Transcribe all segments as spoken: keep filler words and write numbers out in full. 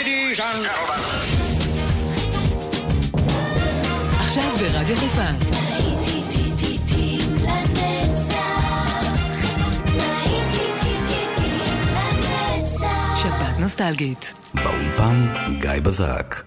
Ladies and gentlemen. עכשיו ברדיו חיפה. שבת נוסטלגית. באולפן גיא בזק.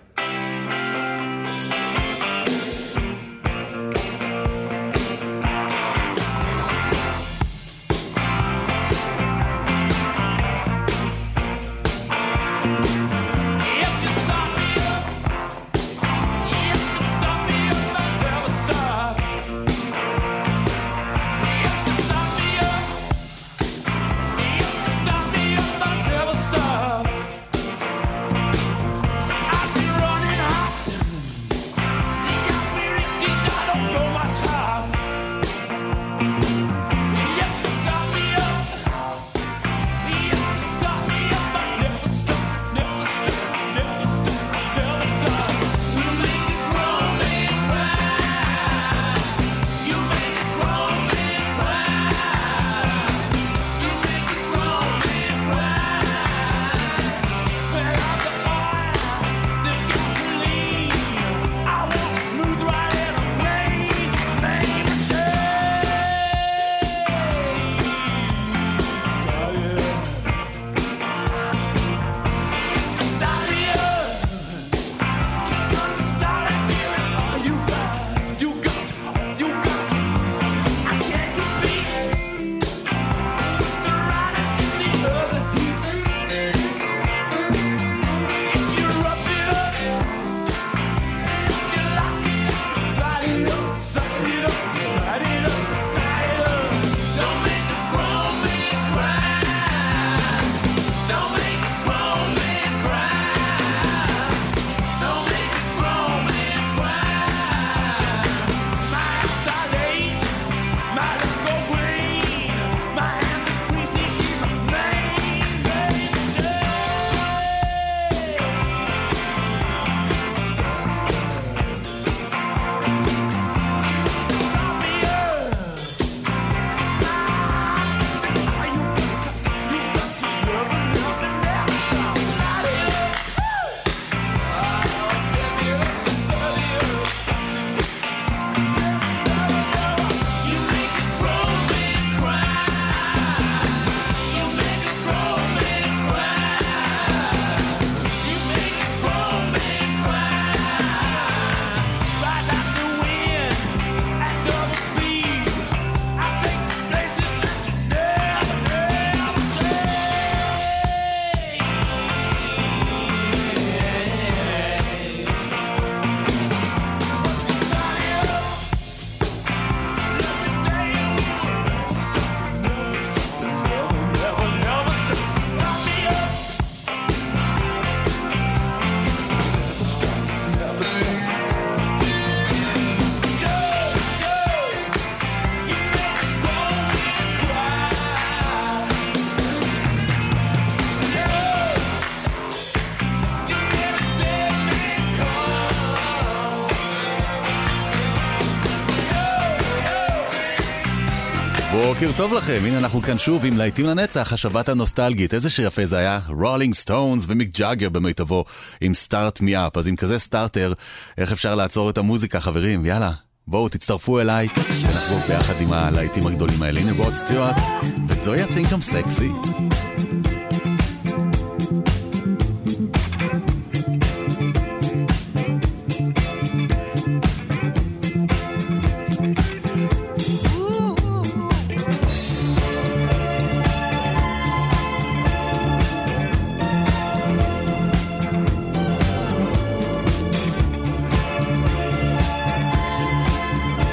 בוקר טוב לכם, הנה אנחנו כאן שוב עם להיטים לנצח, השבת הנוסטלגית. איזה שיר יפה זה היה, רולינג סטונס ומיק ג'אגר במיטבו עם סטארט מי אפ. אז עם כזה סטארטר, איך אפשר לעצור את המוזיקה, חברים? יאללה, בואו תצטרפו אליי, אנחנו ביחד עם הלהיטים הגדולים האלה. הנה רוד סטיוארט ו-Do you think I'm sexy?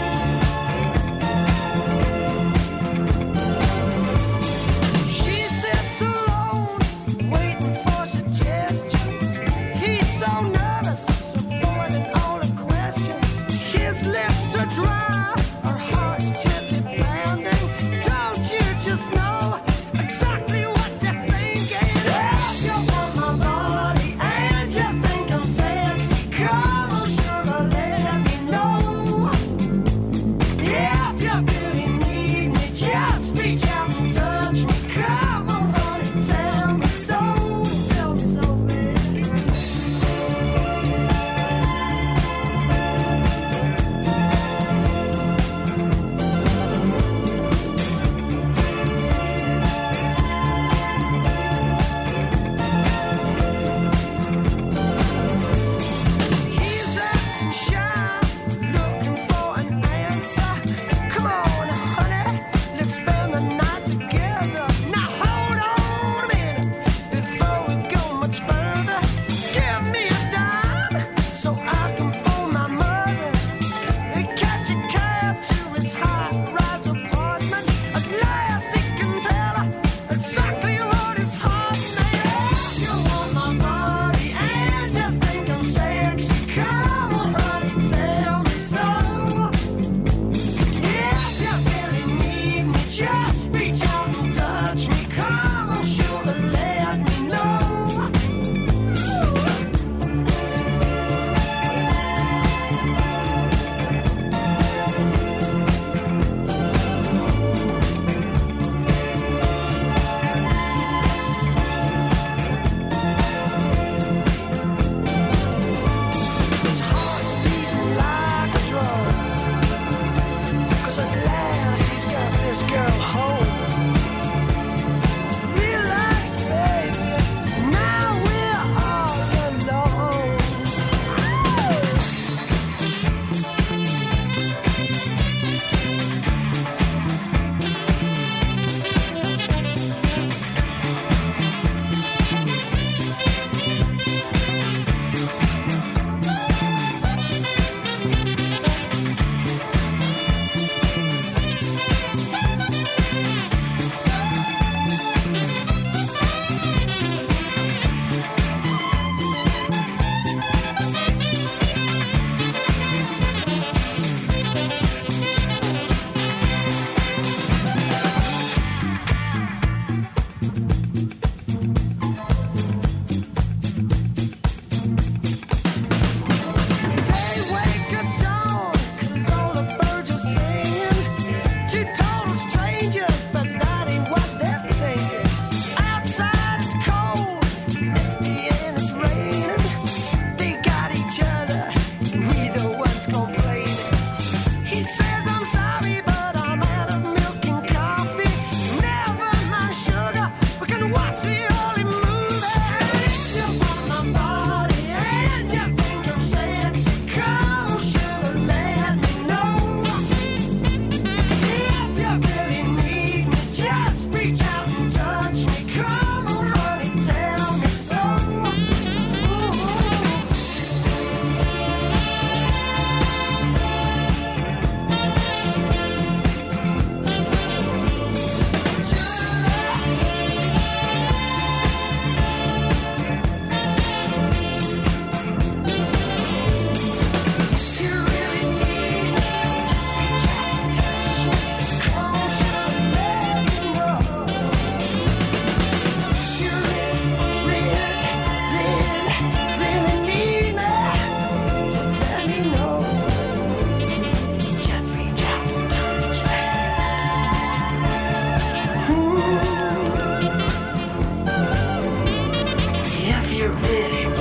She said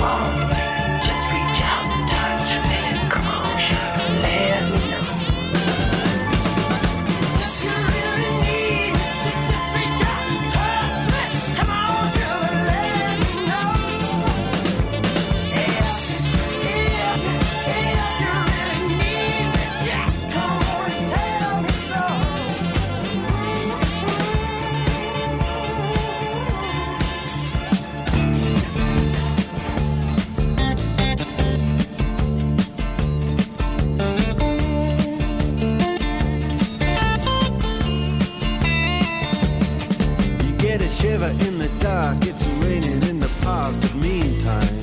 In the dark, it's raining in the park, but meantime,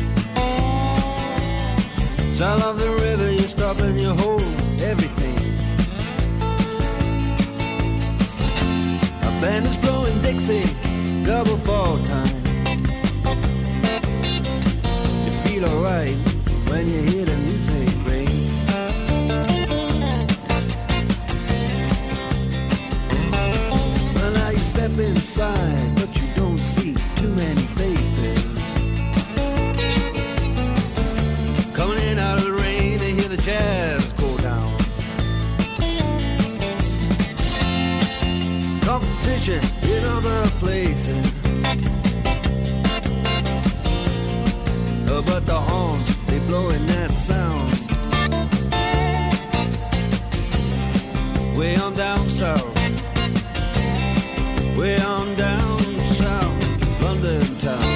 sound of the river, you stop and you hold everything. A band is blowing Dixie, double fall time. You feel alright when you hear the music ring. Well, now you step inside, but you don't see too many faces. Coming in out of the rain, they hear the jazz go down. Competition in other places, uh, but the horns, they blowing that sound. Way on down south, way on down south, London town.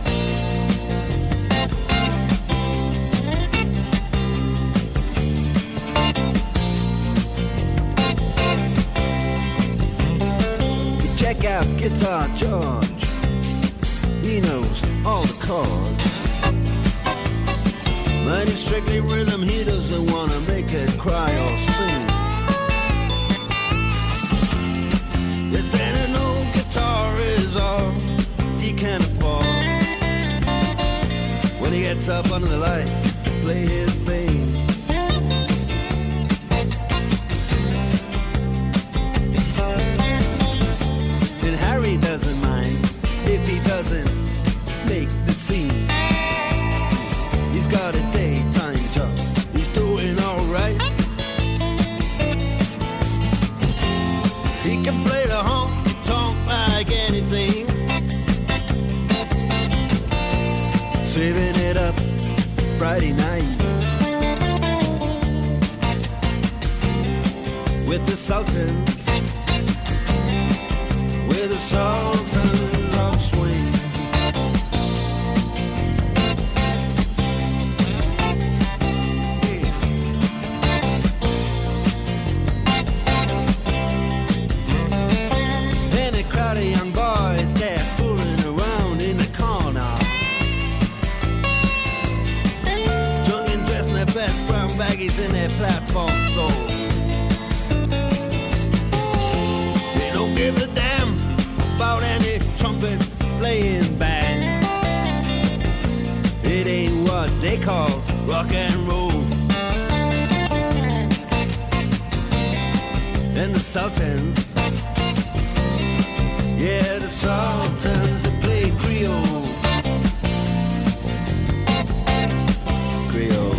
You check out Guitar George, he knows all the chords. But it's strictly rhythm, he doesn't want to make it cry or sing. If any old guitar is all he can afford, when he gets up under the lights to play his thing, and Harry doesn't mind if he doesn't make the scene. He's got a daytime job, he's doing alright. He can play the honky-tonk like anything, saving it up Friday night with the Sultans, with the Sultans of Swing. Baggies in their platform soul. They don't give a damn about any trumpet playing band. It ain't what they call rock and roll. And the Sultans, yeah, the Sultans, they play Creole. Creole.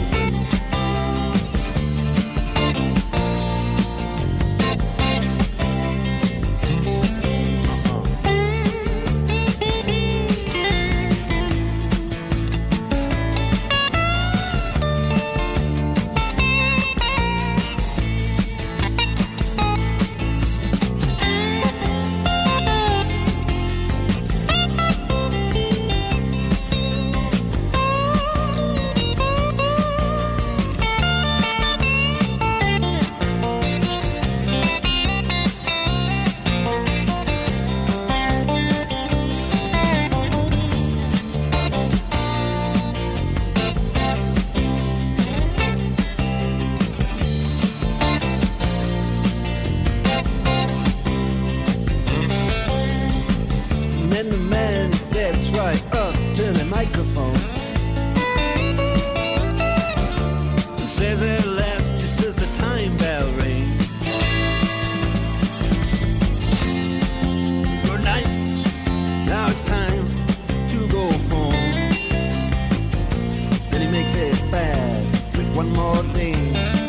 one more thing.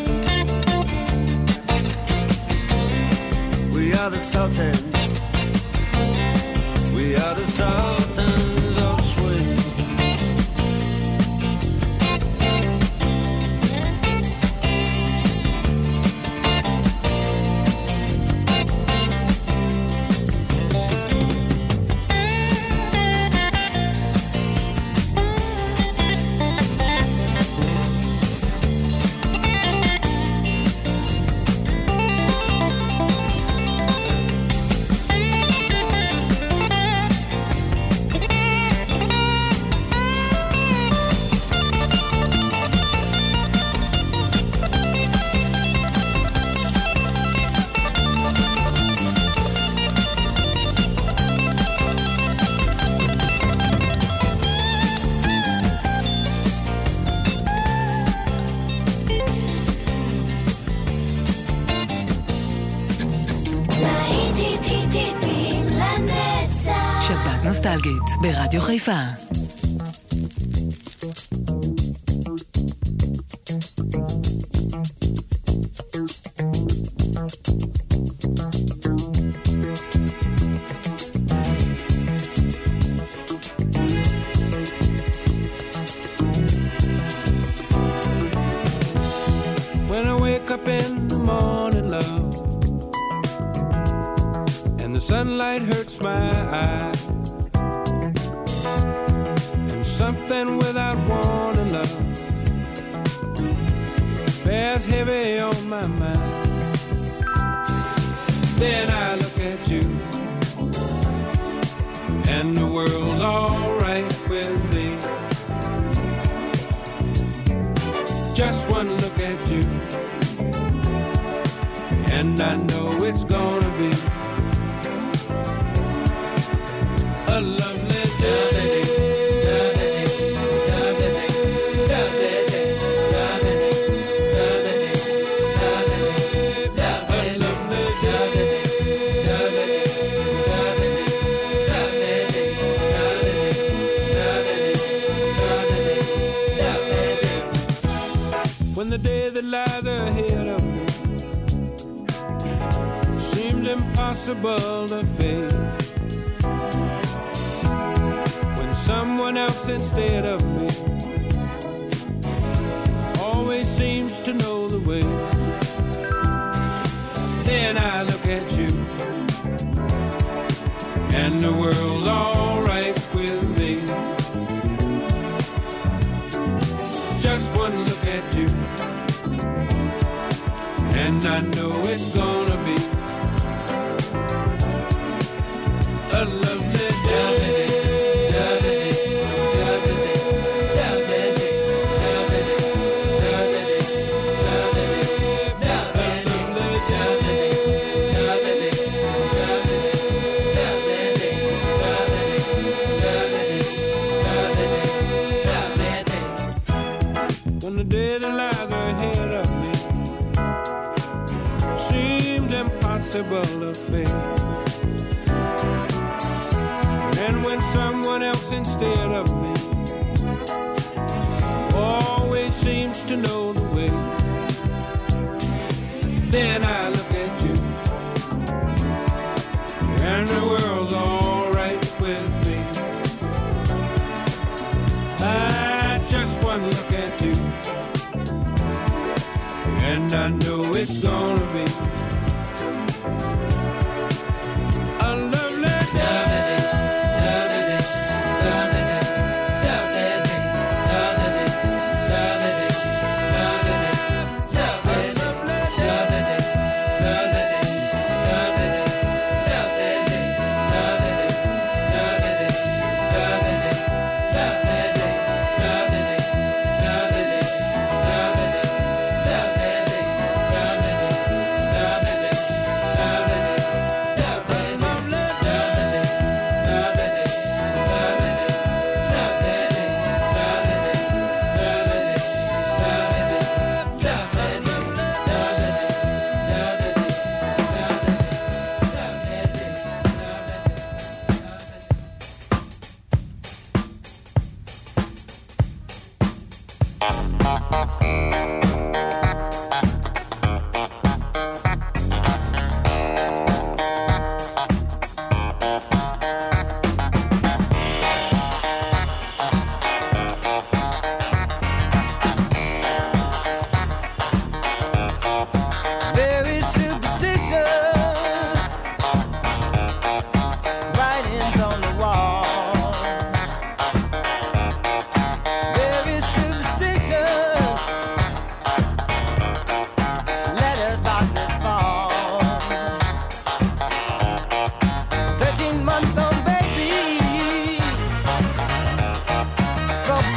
We are the Sultans. We are the Sultans of Swing. נוסטלגית ברדיו חיפה. When I wake up in the morning, love, and the sunlight hurts my eyes, something without warning, love, bears heavy on my mind. Then I look at you, and the world's alright with me. Just one look at you, and I know it's gonna be a lovely day. When the day that lies ahead of me seems impossible to face, when someone else instead of me always seems to know the way, then I look at you, and the world's alright with me. Just one look at you, and I know it's gonna be a lovely day. When the day that lies ahead of me seemed impossible to face, and when someone else instead of me always seems to know the way, then I look at you, and the world's alright with me. I just one look at you, and I know it's gonna be a lovely day.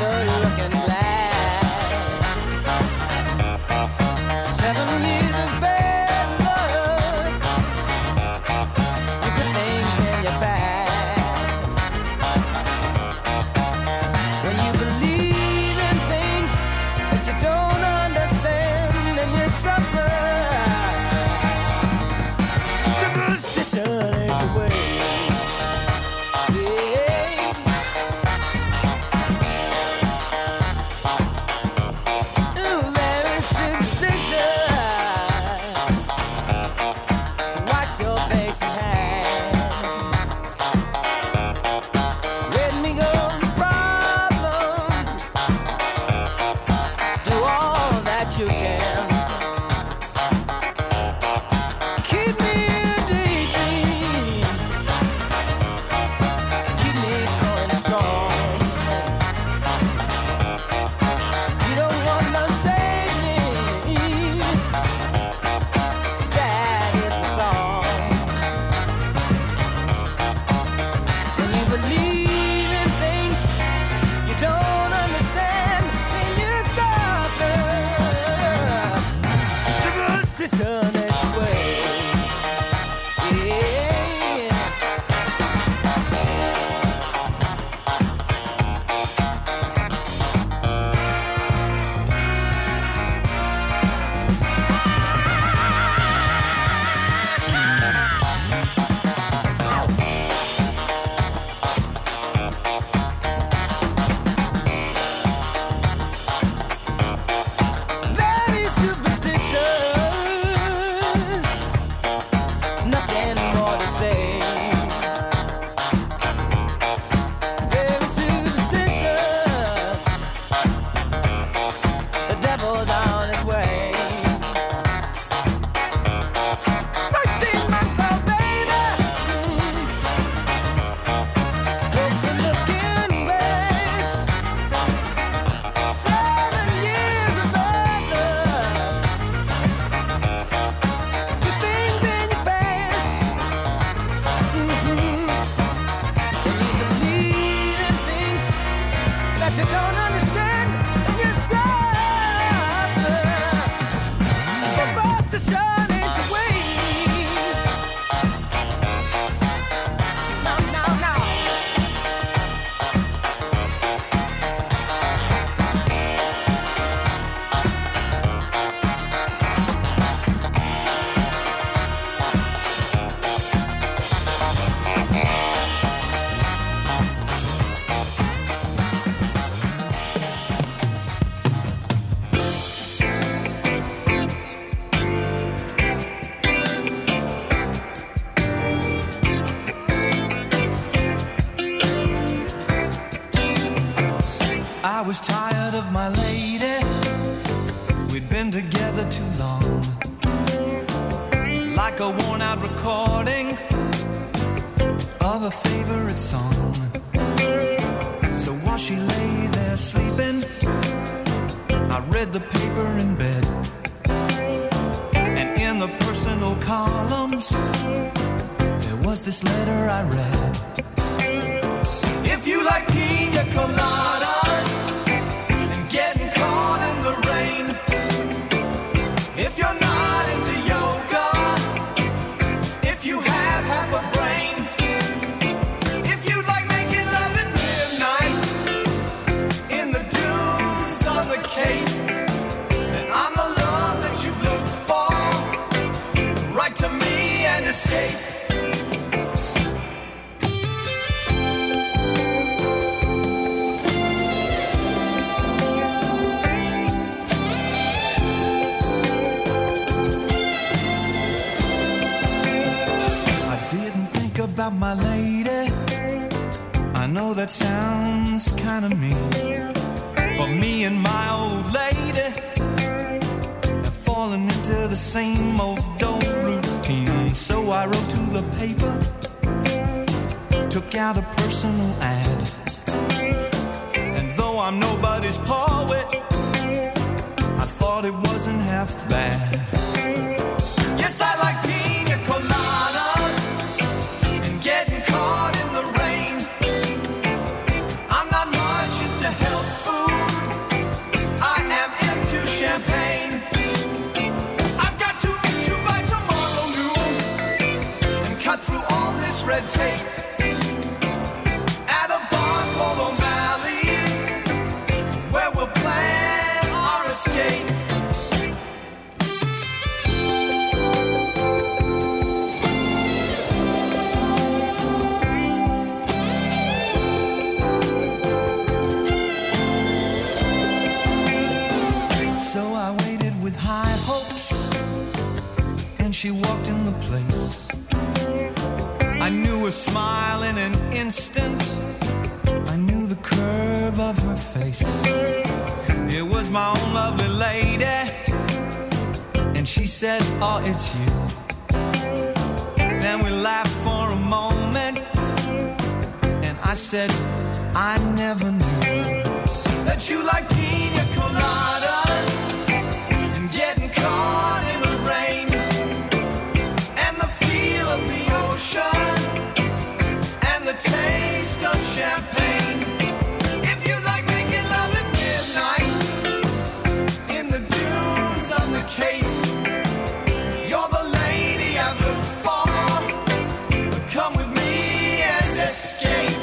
the looking glass. Seven years of bad luck, the good things in your past. When you believe in things that you don't understand, and you suffer. Superstition ain't the way. I was tired of my lady, we'd been together too long, like a worn-out recording of a favorite song. So while she lay there sleeping, I read the paper in bed, and in the personal columns there was this letter I read. If you like pina coladas and getting caught in the rain, if you're not into yoga, if you have half a brain, if you like making love at midnight in the dunes on the Cape, then I'm the love that you've looked for. Write to me and escape. About my lady, I know that sounds kind of mean, but me and my old lady have fallen into the same old old routine. So I wrote to the paper, took out a personal ad, and though I'm nobody's poet, I thought it wasn't half bad. Yes, I like pina coladas, getting caught in the rain. I'm not much into health food, red tape at a bar called O'Malley's, where we'll plan our escape. So I waited with high hopes, and she walked in the place. I knew her smile in an instant, I knew the curve of her face. It was my own lovely lady, and she said, oh, it's you. Then we laughed for a moment, and I said, I never knew that you like pina coladas and getting caught in the rain and the feel of the ocean and the taste of champagne. If you like making love at midnight in the dunes of the Cape, you're the lady I've looked for. Come with me and escape.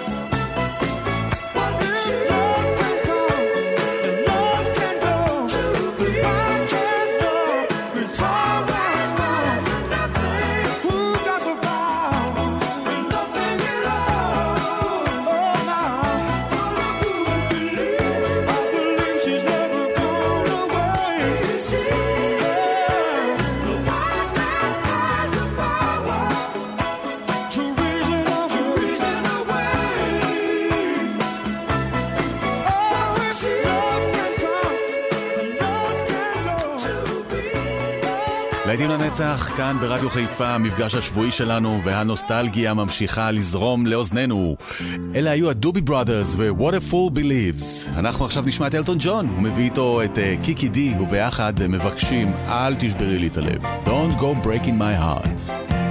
Too להיטים לנצח, כאן ברדיו חיפה, המפגש השבועי שלנו, והנוסטלגיה ממשיכה לזרום לאוזננו. אלה היו הדובי בראדרס ו-What a Fool Believes. אנחנו עכשיו נשמע את אלטון ג'ון, הוא מביא איתו את uh, קיקי די, וביחד מבקשים, אל תשברי לי את הלב. Don't go breaking my heart.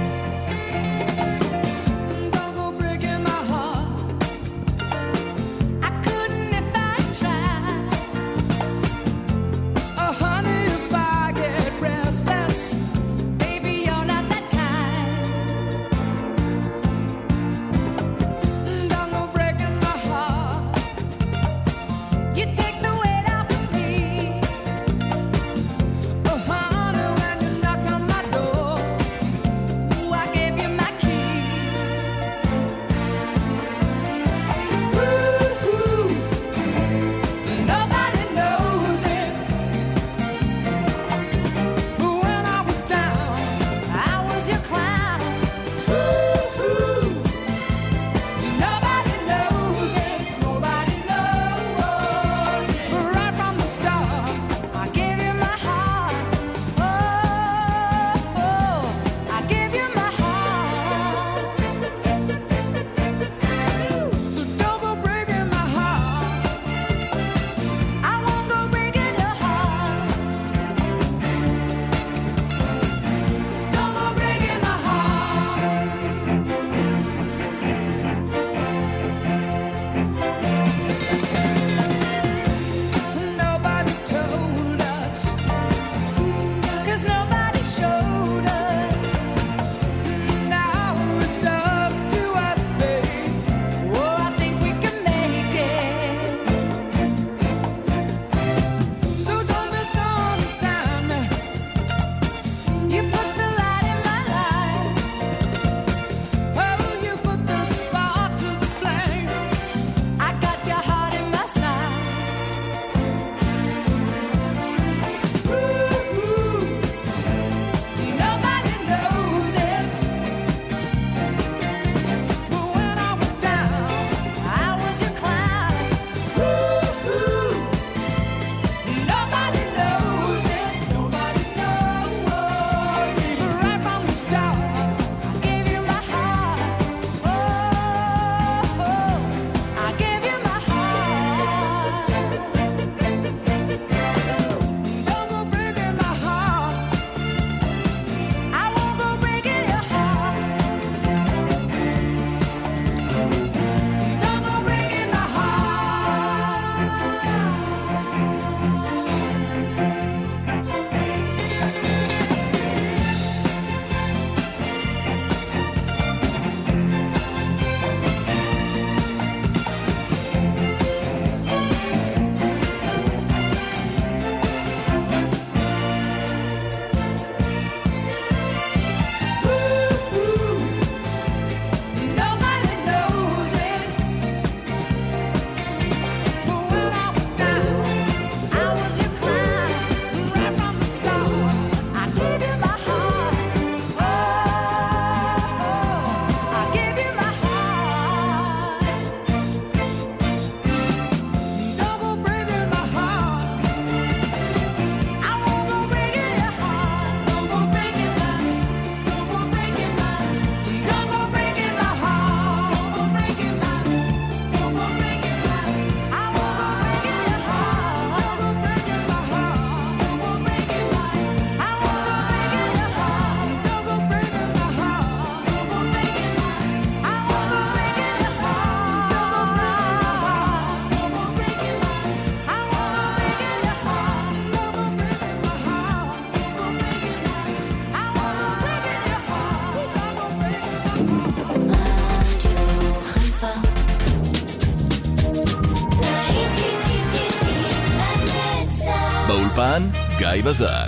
באולפן גיא בזק.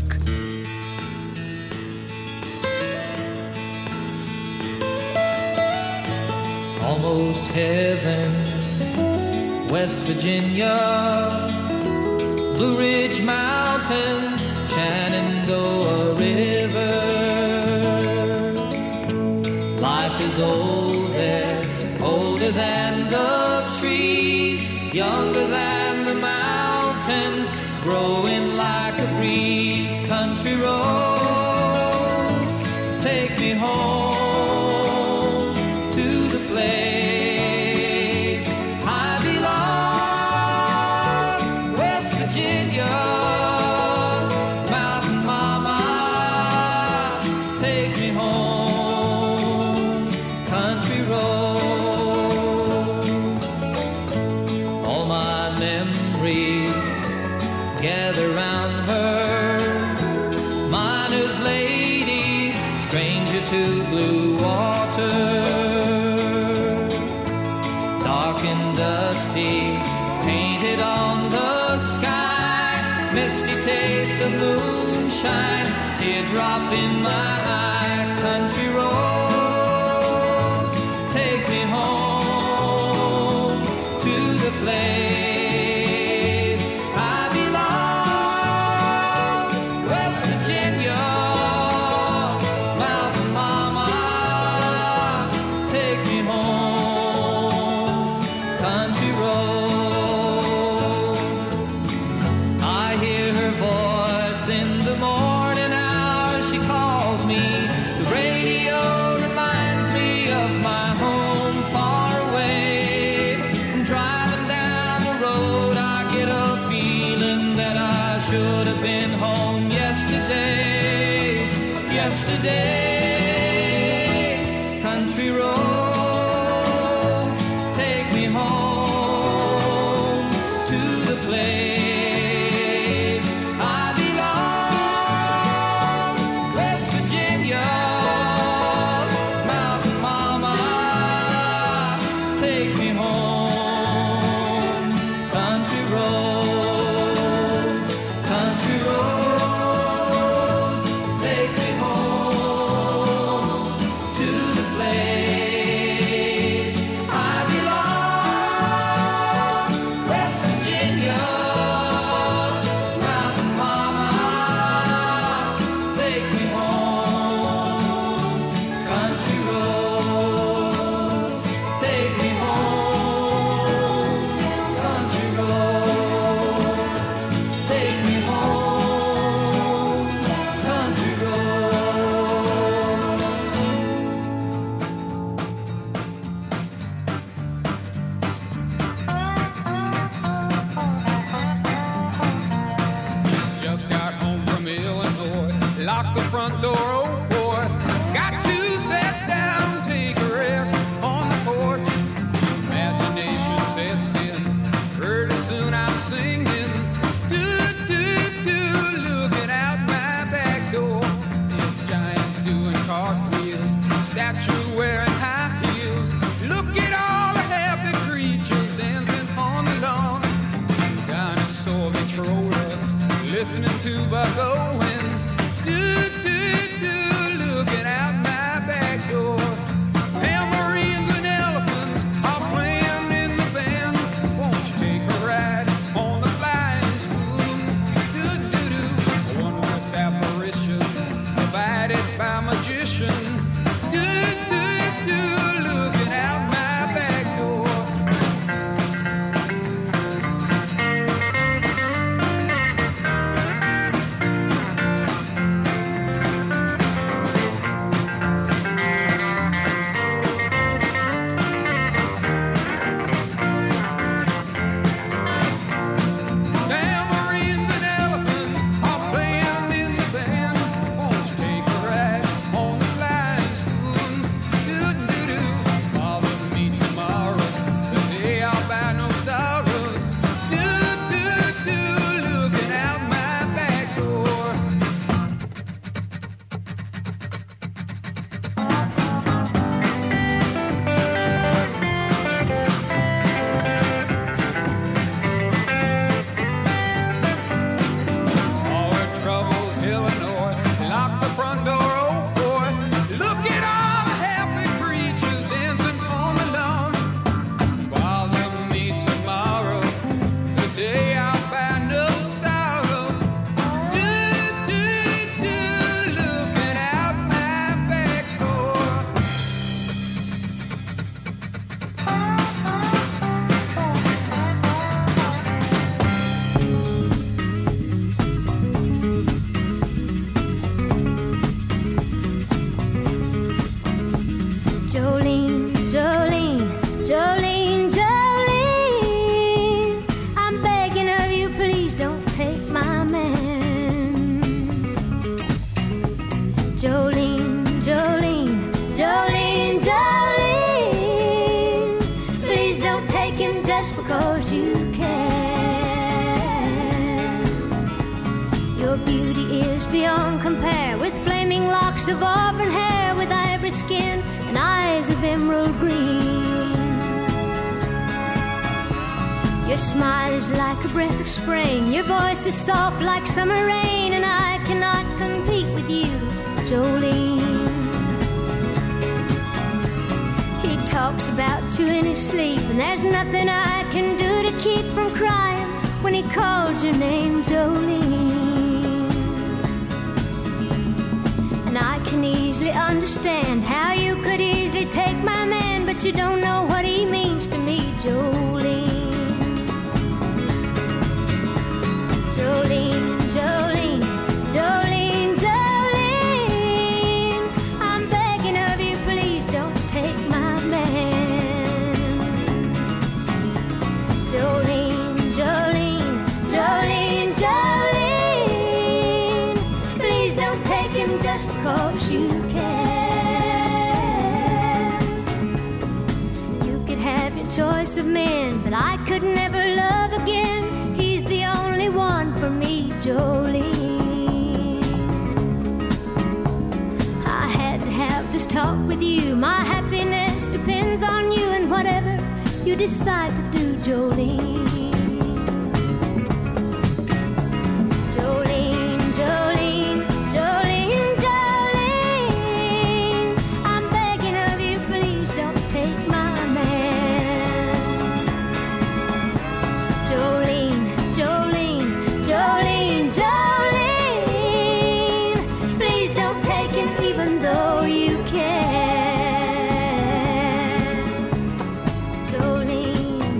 Almost heaven, West Virginia, Blue Ridge Mountains, Shenandoah River. Life is old there, older than the trees, younger than the mountains, growing like a breeze. Country road, Virginia, mountain mama, take me home, country roads. All my memories gather round her, miner's lady, stranger to blue water, dark and dusty, painted on the sky, misty taste of moonshine, teardrop in my eye, country roads, take me home to the place I belong, West Virginia, mountain mama, take me home, country roads. I hear her voice in the morning hour, she calls me, the radio reminds me of my home far away. Driving down the road, I get a feeling that I should have been home yesterday, yesterday. Country roads, take me home to the place I belong, West Virginia, mountain mama, take me home, country roads, country roads, take me home to the place I belong, West Virginia, mountain mama, take me home, country roads, take me home, country roads, take me home, country roads. Just got home from Illinois, locked the front door, oh boy. Got to sit down, take a rest on the porch. Imagination sets in, pretty soon I'm singing. Do, do, do, looking out my back door. This giant doing cartwheels, statue wearing high heels. Look at all the happy creatures dancing on the lawn. Dinosaur controller, listening to Buck Owens. Do, do, do, looking out my back door. Tambourines and elephants are playing in the band. Won't you take a ride on the flying spoon? Do, do, do, a wondrous apparition provided by magician. Do, do, do, looking out my back door. Your beauty is beyond compare, with flaming locks of auburn hair, with ivory skin and eyes of emerald green. Your smile is like a breath of spring, your voice is soft like summer rain, and I cannot compete with you, Jolene. He talks about you in his sleep, and there's nothing I can do to keep from crying when he calls your name, Jolene. And I can easily understand how you could easily take my man, but you don't know what he means to me, Jolene. Jolene, Jolene, Jolene, Jolene, I'm begging of you, please don't take my man. Jolene, Jolene, Jolene, Jolene, please don't take him just because you can. You could have your choice of men, but I could never love again. He's the only one for me, Jolene. I had to have this talk with you. My happiness depends on you, and whatever you decide to do, Jolene. Jolene, Jolene, Jolene, Jolene, I'm begging of you, please don't take my man. Jolene, Jolene, Jolene, Jolene, please don't take him even though you can. Jolene,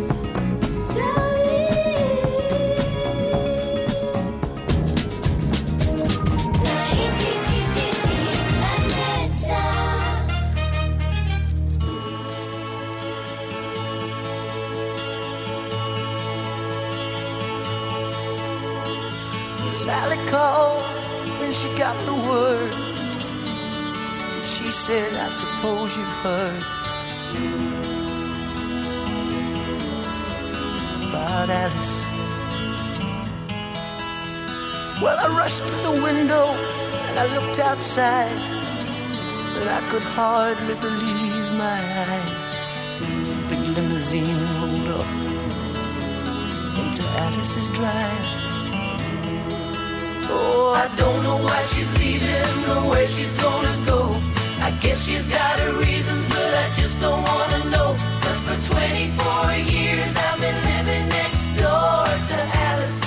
Sally called when she got the word. She said, I suppose you've heard about Alice. Well, I rushed to the window and I looked outside, but I could hardly believe my eyes as a big limousine rolled up into Alice's drive. Oh, I don't know why she's leaving or where she's gonna go. I guess she's got her reasons, but I just don't wanna know. 'Cause for twenty-four years I've been living next door to Alice.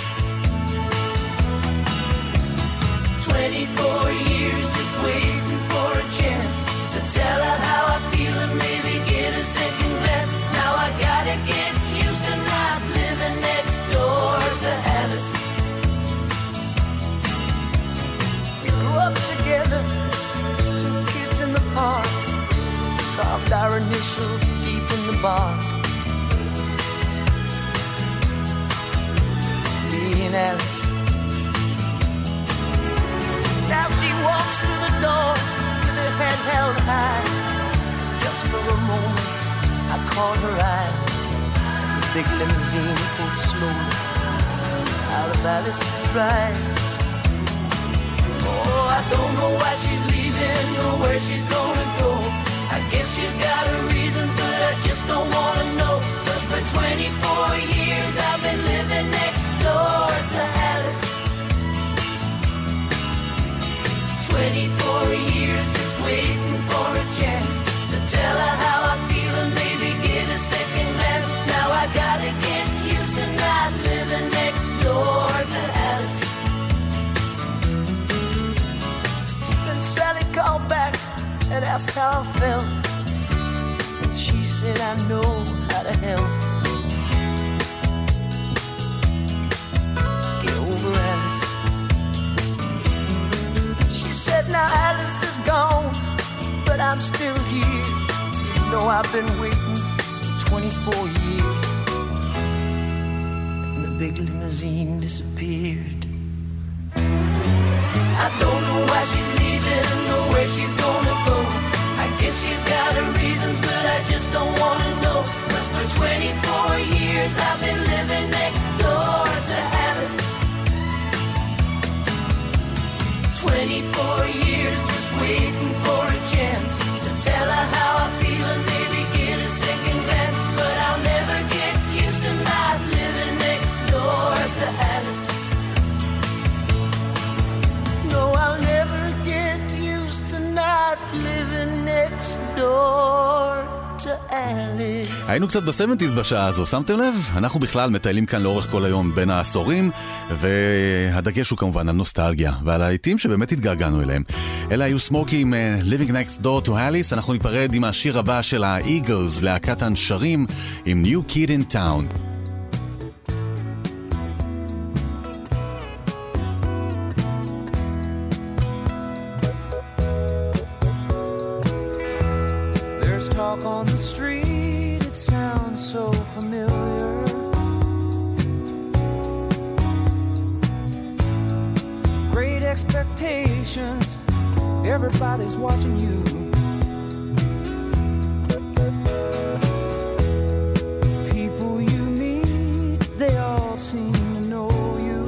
twenty-four years just waiting for a chance to tell her how I feel and maybe get a second glance. Now I gotta get used to not living next door to Alice. We grew up together, two kids in the park, carved our initials deep in the bark. Me and Alice. Now she walks through the door with her head held high. Just for a moment I caught her eye as the big limousine pulled slowly out of Alice's drive. Oh, I don't know why she's leaving or where she's gonna go. I guess she's got her reasons, but I just don't wanna know. 'Cause for twenty-four years I've been living next door to Alice. twenty-four years just waiting for a chance to tell her how I feel and maybe get a second glance. Now I gotta get used to not living next door to Alice. Then Sally called back and asked how I felt, and she said, I know how to help. Get over Alice. She said, now Alice is gone, but I'm still here. You know I've been waiting for twenty-four years. And the big limousine disappeared. I don't know why she's leaving or where she's gonna go. I guess she's got her reasons, but I just don't wanna know. 'Cause for twenty-four years I've been living next door to Alice. twenty-four years just waiting for a chance to tell her how I feel and maybe get a second glance. But I'll never get used to not living next door to Alice. No, I'll never get used to not living next door to Alice. היינו קצת ב-שבעים בשעה הזו, שמתם לב? אנחנו בכלל מטיילים כאן לאורך כל היום בין העשורים, והדגש הוא כמובן על נוסטלגיה ועל העיתים שבאמת התגעגענו אליהם. אלה היו סמוקי עם uh, Living Next Door to Alice. אנחנו ניפרד עם השיר הבא של ה-Eagles, להקת הנשרים, עם New Kid in Town. There's talk on the street, it sounds so familiar. Great expectations, everybody's watching you. People you meet, they all seem to know you.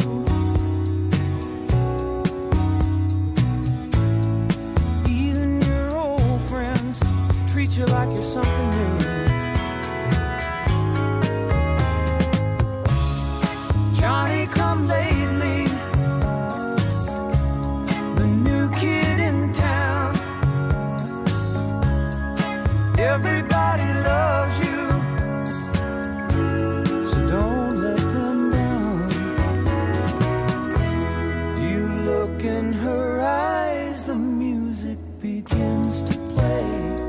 Even your old friends treat you like you're something new. Johnny come lately, the new kid in town. Everybody loves you, so don't let them down. You look in her eyes, the music begins to play.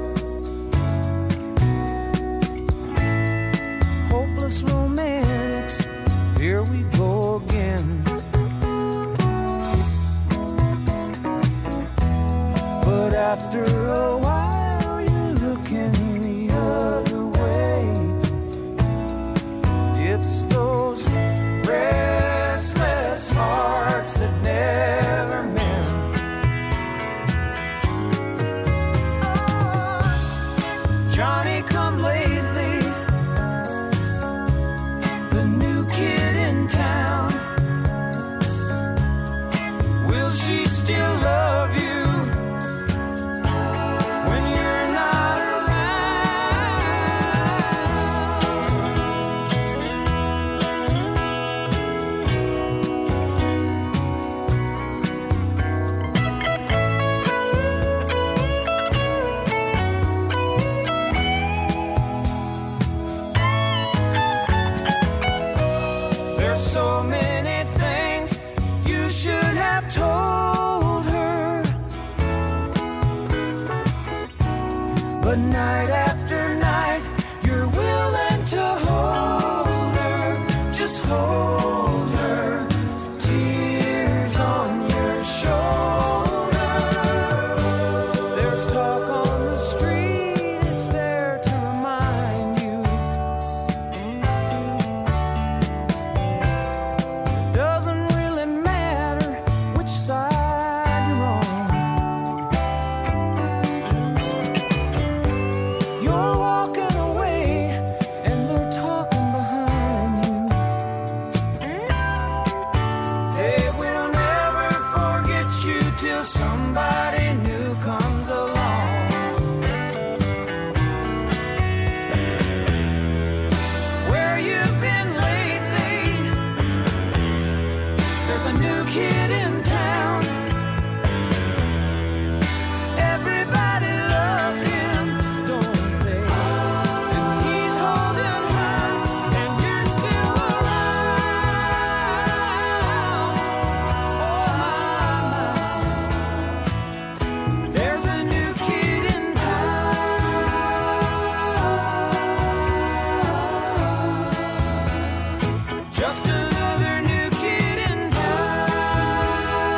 Romantics, here we go again. But after a while you're looking the other way. It's those restless hearts that never mend. Oh, Johnny come lately, kid in town. Will she still love you when you're not so many things you should have told her, but night after night you're willing to hold her, just hold her, tears on your shoulder. There's talk on the street, it's there to remind you. Doesn't really matter which side you're on. You're walking away and they're talking behind you. They will never forget you till somebody new comes along. Where you've been lately, there's a new kid in town. Everybody loves him, don't they? And he's holding her, and you're still around. Oh my, my. There's a new kid in town. Just another new kid in town.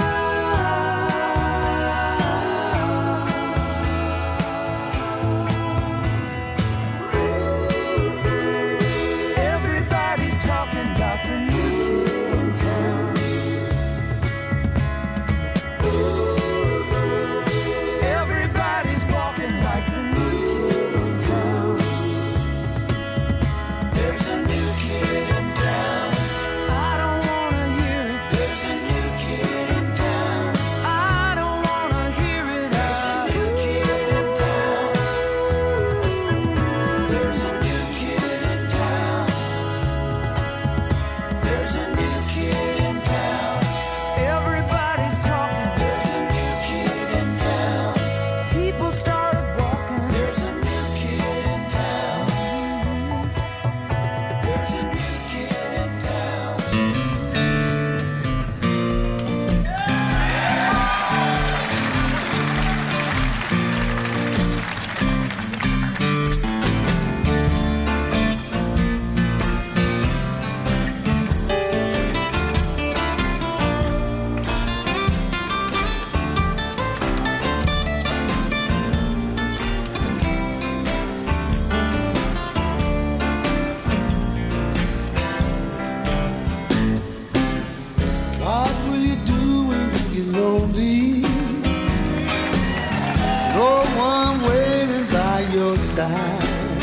side.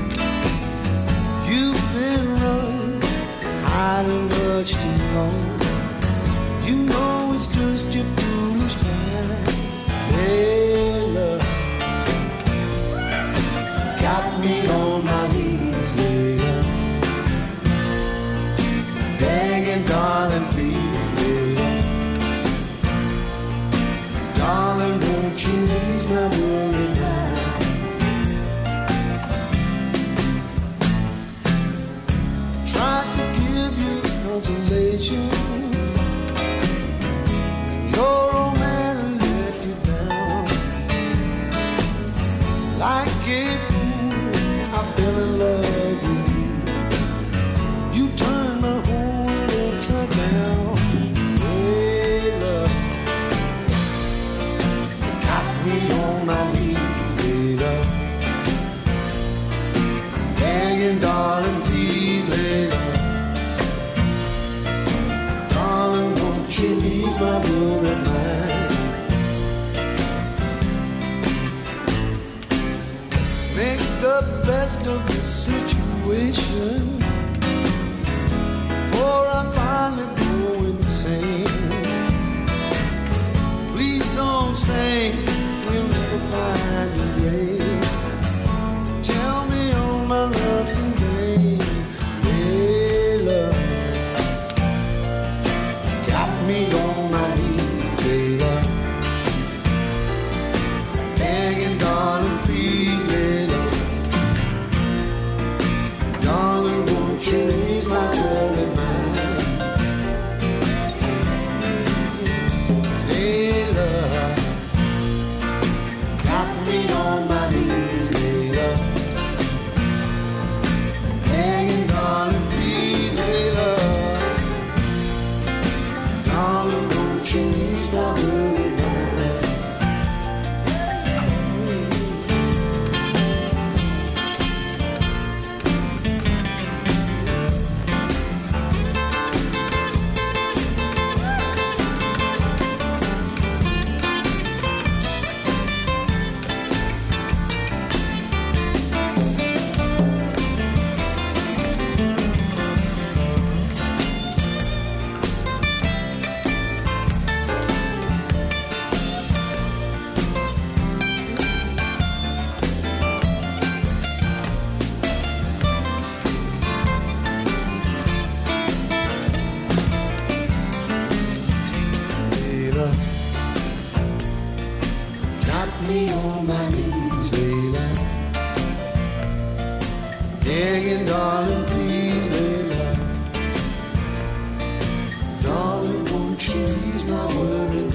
You've been running, hiding much too long. You know it's just your foolish pride. Hey, love, got me on my knees, later, begging, darling, please, later, darling, won't you ease my worried mind? Tried to give you consolation. Your old man let you down. Like a fool, I fell in love with you. You turned my whole world upside down. Hey, love, got me on my knees, hey, love, begging, darling, please, lay love, darling, won't you ease my worried mind? Make the best of the situation, before I finally go insane. Please don't say we'll never find a grave. Tell me all my love today. Hey, love, got me on my knees, hey, love, begging, darling, please, hey, love, darling, won't you ease my worried mind? Hey, love, got me on my knees, hey, love, begging, darling, please, hey, love, darling, won't you ease my worried mind? Layla, got me on my knees, Layla, begging, darling, please, Layla, darling, won't you ease my worried